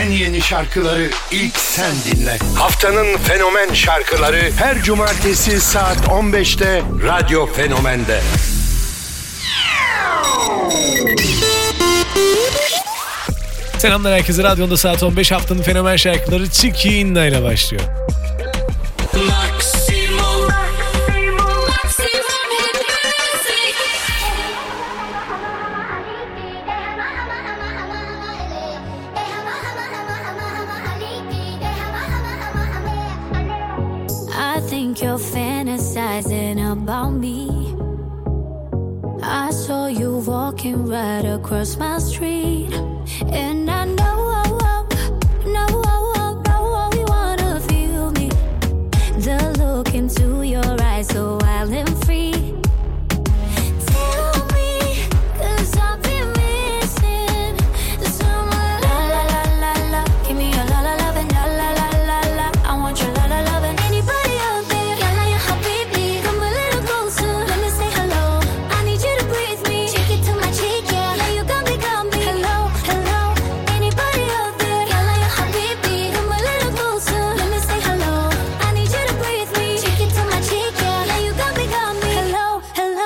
en yeni şarkıları ilk sen dinle. Haftanın fenomen şarkıları her cumartesi saat 15'te Radyo Fenomen'de. Selamlar herkese. Radyonda saat 15, haftanın fenomen şarkıları Chiquinna ile başlıyor. I think you're fantasizing about me. I saw you walking right across my street, and I know you wanna feel me. The look into your eyes, so wild and free. Tell me, 'cause I've been missing someone. La la la la la, give me your la la love and la la la la la. I want your la la love and anybody out there. Yalla ya habibi, come a little closer, let me say hello. I need you to breathe me, take it to my cheek, yeah. Now you got me. Hello, hello, anybody out there? Yalla ya habibi, come a little closer, let me say hello. I need you to breathe me, take it to my cheek, yeah. Now you got me. Hello, hello.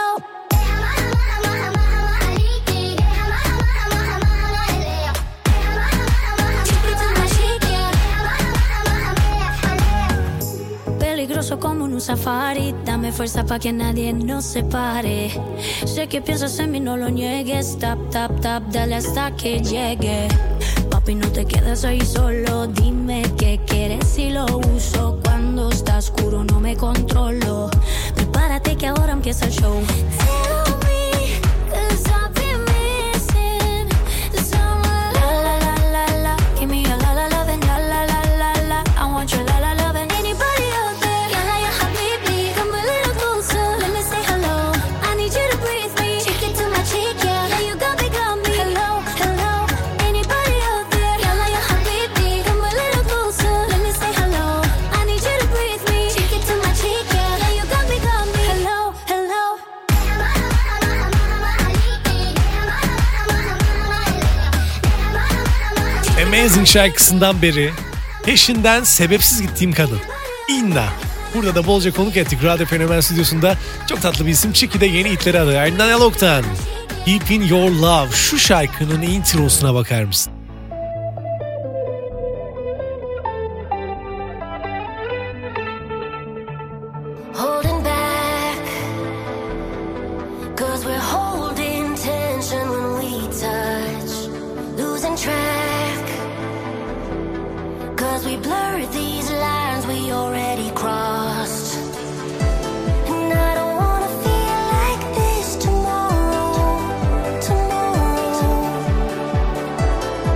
Peligroso como un safari, dame fuerza pa' que nadie nos separe. Sé que piensas en mí, no lo niegues. Tap, tap, tap, dale hasta que llegue. Papi, no te quedes ahí solo, dime qué quieres y lo uso. Cuando está oscuro no me controlo. Prepárate que ahora empieza el show. Tell me, 'cause I've been missing someone. La la la la la, give me your la la love and la la la la la. I want your la la love and anybody out there. Yalla ya habibi, come a little closer, let me say hello. I need you to breathe me, take it to my cheek, yeah. Now you got me. Hello, hello, anybody out there? Yalla ya habibi, come a little closer, let me say hello. I need you to breathe me, take it to my cheek, yeah. Now you got me. Hello, hello. Amazing şarkısından beri peşinden sebepsiz gittiğim kadın Inna. Burada da bolca konuk ettik Radyo Fenomen stüdyosunda. Çok tatlı bir isim. Chiqui de yeni hitleri adı. Ardından Alok'tan Deep in Your Love. Şu şarkının introsuna bakar mısın? Holding back, 'cause we're holding tension when we touch. Losing track, 'cause we blurred these lines we already crossed. And I don't wanna feel like this tomorrow.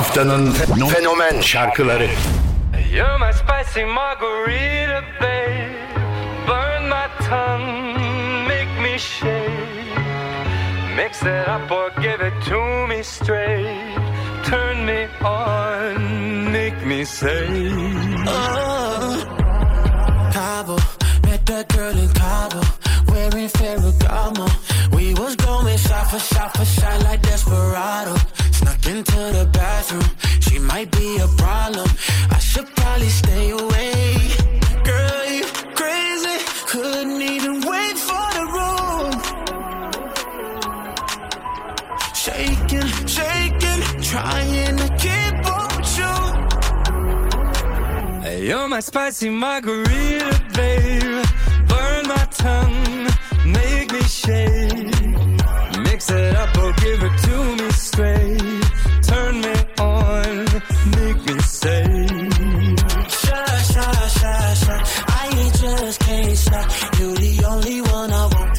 Haftanın fenomen şarkıları. You're my spicy margarita, babe. Burn my tongue, make me shake. Mix it up or give it to me straight. Turn me on, make me say. Cabo, met that girl in Cabo, wearing Ferragamo. We was going shot for shot for shot like Desperado. Snuck into the bathroom, she might be a problem. I should probably stay away. Girl, you crazy, couldn't even wait for the room. Shaking, shaking, trying to keep up with you. You're my spicy margarita, babe. Burn my tongue, make me shake. Mix it up or give it to me straight. Turn me on, make me say. Shy, shy, shy, shy. I just can't stop. You're the only one I want.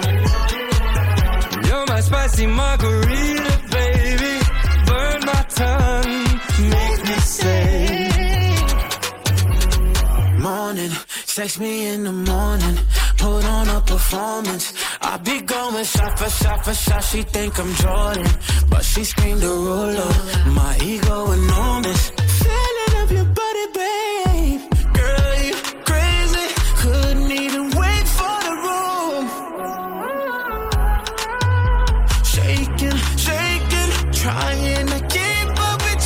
You're my spicy margarita, baby. Burn my tongue, make me say. Morning, text me in the morning. Put on a performance. I be going shot for shot for shot. She think I'm Jordan, but she screamed a ruler. My ego enormous. Feeling of your body, babe. Girl, you crazy. Couldn't even wait for the room. Shaking, shaking, trying to keep up with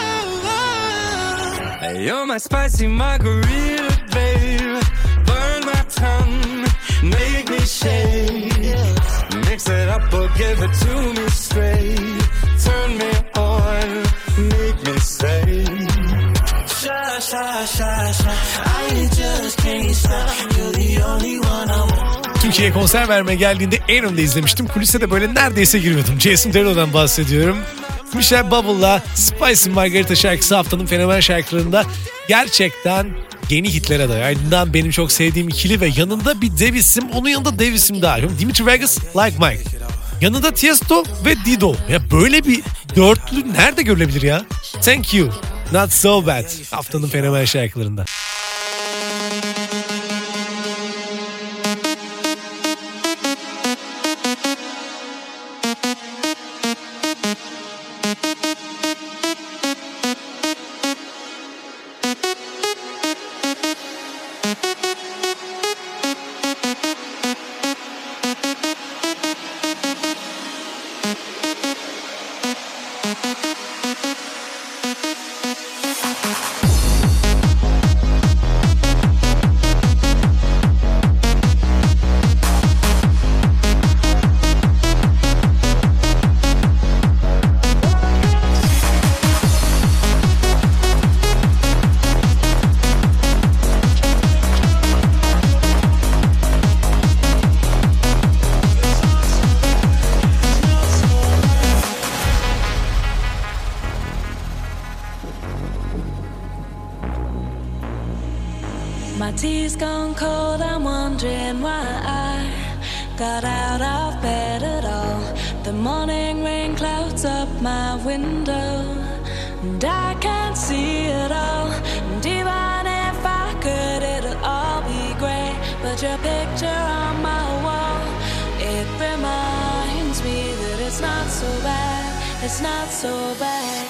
you. You're my spicy margarita, babe. Burn my tongue, make me shake. Mix it up or give it to me straight. Turn me on, make me say. Shy, shy, shy, shy. I just can't stop. You're the only one I want. Türkiye'ye konser vermeye geldiğinde en önde izlemiştim. Kulise de böyle neredeyse giriyordum. Jason Derulo'dan bahsediyorum. Michelle Bubble'la Spicy Margarita şarkısı haftanın fenomen şarkılarında gerçekten yeni hitlere adayı. Ardından benim çok sevdiğim ikili ve yanında bir dev isim, onun yanında dev isim daha. Dimitri Vegas, Like Mike. Yanında Tiesto ve Dido. Ya böyle bir dörtlü nerede görülebilir ya? Thank You, Not So Bad haftanın fenomen şarkılarında. My tea's gone cold, I'm wondering why I got out of bed at all. The morning rain clouds up my window, and I can't see it all. And even if I could, it'll all be grey. But your picture on my wall, it reminds me that it's not so bad, it's not so bad.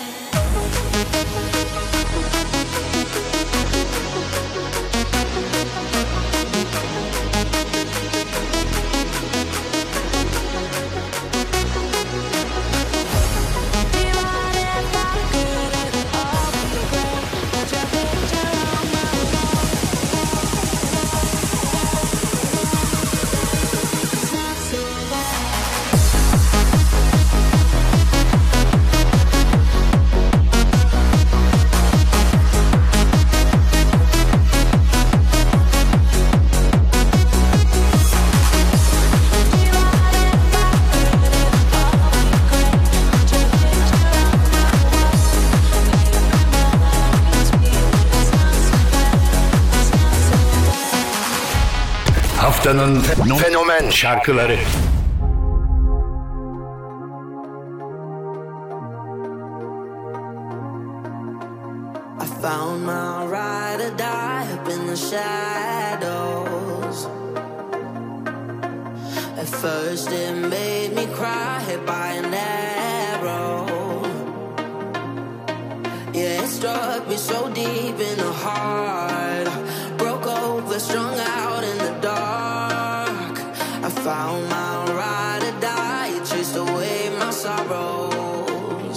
Haftanın fenomen şarkıları. First it made me cry, hit by an arrow. Yeah, it struck me so deep in the heart. Broke over, strung out in the dark. I found my ride or die. It chased away my sorrows.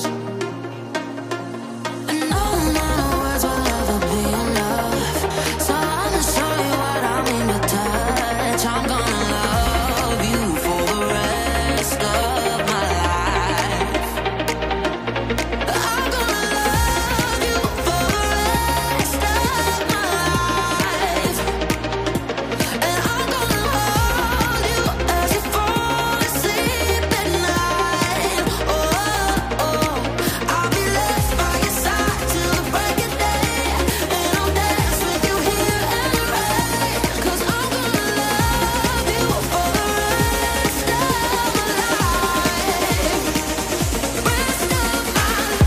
And no amount of words will ever be enough. So I'ma show you what I mean to touch. I'm gonna love you for the rest of my life. I'm gonna love you for the rest of my life. And I'm gonna hold you as you fall asleep at night. Oh, oh, I'll be left by your side till the break of day. And I'll dance with you here and right. 'Cause I'm gonna love you for the rest of my life. Rest of my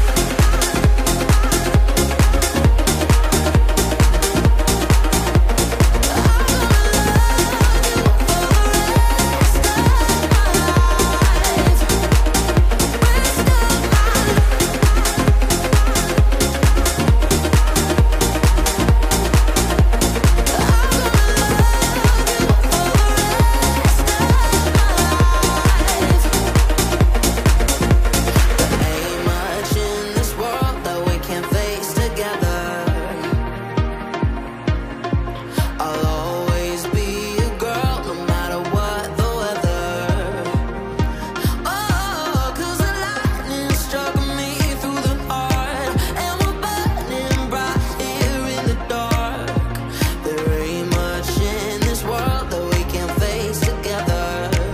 ain't much in this world that we can't face together. I'll always be a girl, no matter what the weather. Oh, 'cause the lightning struck me through the heart, and we're burning bright here in the dark. There ain't much in this world that we can't face together.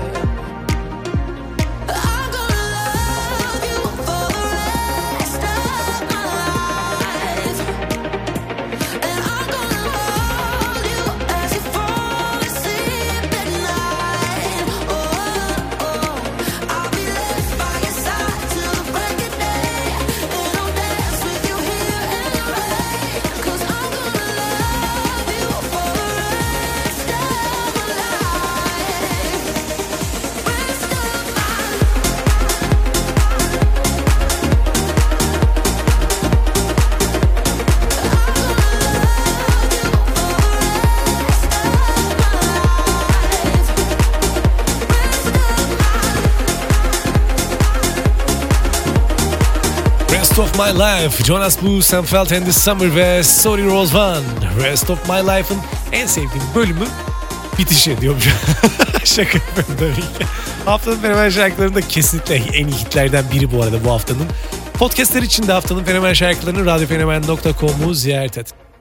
I'm gonna love you for the rest of my life. And I'm gonna hold you as you fall asleep at night. Oh, oh, I'll be left by your side till the break of day. And I'll dance with you here and right. 'Cause I'm gonna love you for the rest of my life. Rest of my Rest of My Life, Jonas Blue, Sam Feldt and the Summer ve Sorry Rose One. Rest of My Life'ın en sevdiğim bölümü bitişi diyorum. Şaka yapıyorum tabii ki. Haftanın fenomen şarkılarında kesinlikle en iyi hitlerden biri bu arada bu haftanın. Podcastler için de haftanın fenomen şarkılarını radyofenomen.com'u ziyaret et.